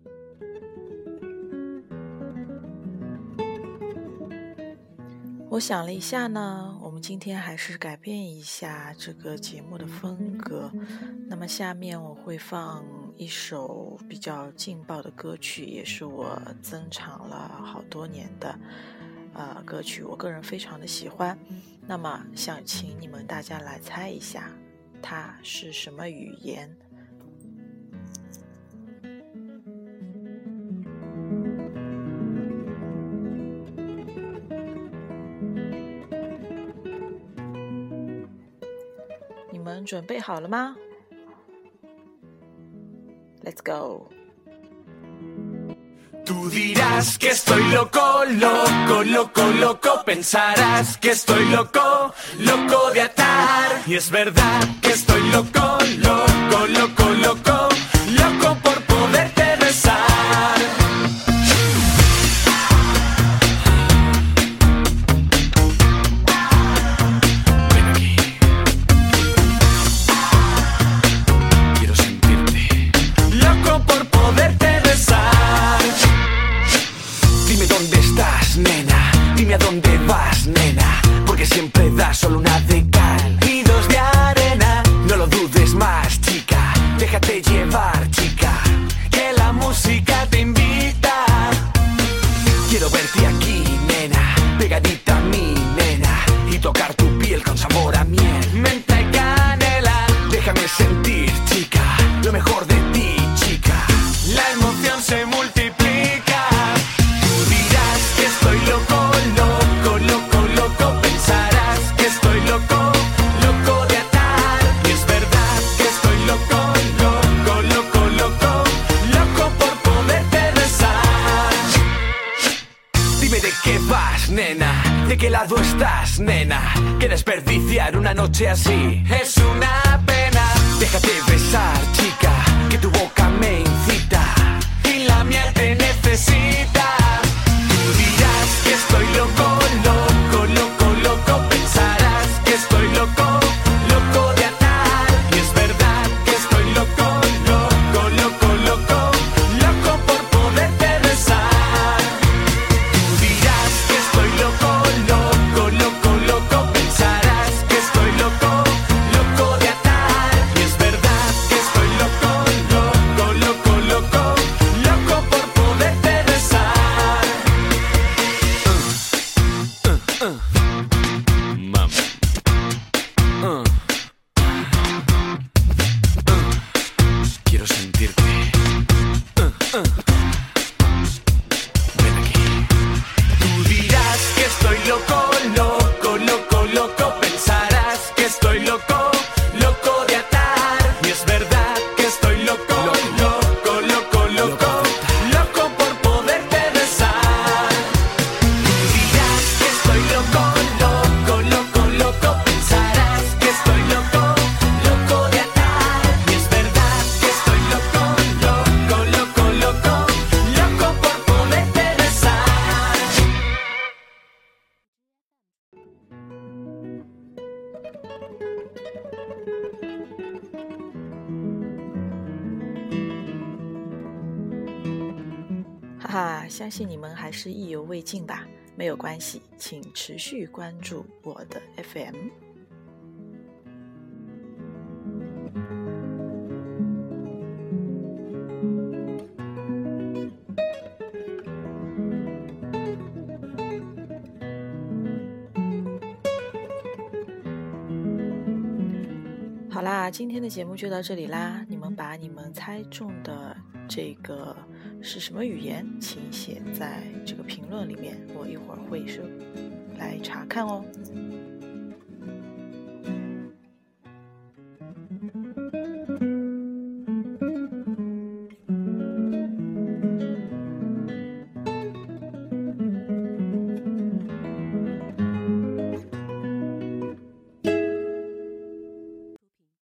我想了一下呢，我们今天还是改变一下这个节目的风格。那么下面我会放一首比较劲爆的歌曲，也是我珍藏了好多年的歌曲，我个人非常的喜欢。那么想请你们大家来猜一下，它是什么语言？你们准备好了吗？ Let's go. Tú dirás que estoy loco, loco, loco, loco. Pensarás que estoy loco, loco de atar. Y es verdad que estoy loco, loco, loco, loco, loco por poderte besar. Ven aquí. Quiero sentirte loco por poderte besar. Dime dónde estás, nena, dime a dónde vas, nena, porque siempre das solo una de cal y dos de arena. No lo dudes más, chica, déjate llevar, chica, que la música te invita. Quiero verte aquí, nena, pegadita a mí, nena, y tocar tu piel con sabor a miel, menta y canela. Déjame sentir, chica, lo mejor de ti, chica. La emoción se multiplica. Tú dirás que estoy loco, loco, loco, loco. Pensarás que estoy loco, loco de atar. Y es verdad que estoy loco, loco, loco, loco, loco por poderte besar. Dime de qué vas, nena, de qué lado estás, nena, que desperdiciar una noche así es una pena. Déjate besar, chica, que tu boca me incita y la mía te necesita. Tú dirás que estoy loco, loco, loco, loco. Pensarás que estoy loco, loco de atar. Y es verdad que estoy loco, loco, loco, loco, loco por poderte besar. Tú dirás que estoy loco, loco, loco, loco. Pensarás que estoy loco, loco de atar. Y es verdad que estoy loco, loco, loco, loco, loco por poderte besar. Mami. Quiero sentirte. Ven aquí. Tú dirás que estoy loco, loco, loco, loco. Pensarás que estoy loco, loco de atar. Y es verdad que estoy loco, loco, loco, loco, loco por poderte besar. Tú dirás que estoy loco, loco, loco, loco. Pensarás que estoy loco, loco de atar. Y es verdad que estoy loco, loco, loco, loco, loco por poderte besar. 哈哈，相信你们还是意犹未尽吧？没有关系，请持续关注我的 FM。好啦，今天的节目就到这里啦。你们把你们猜中的这个是什么语言，请写在这个评论里面，我一会儿会来查看哦。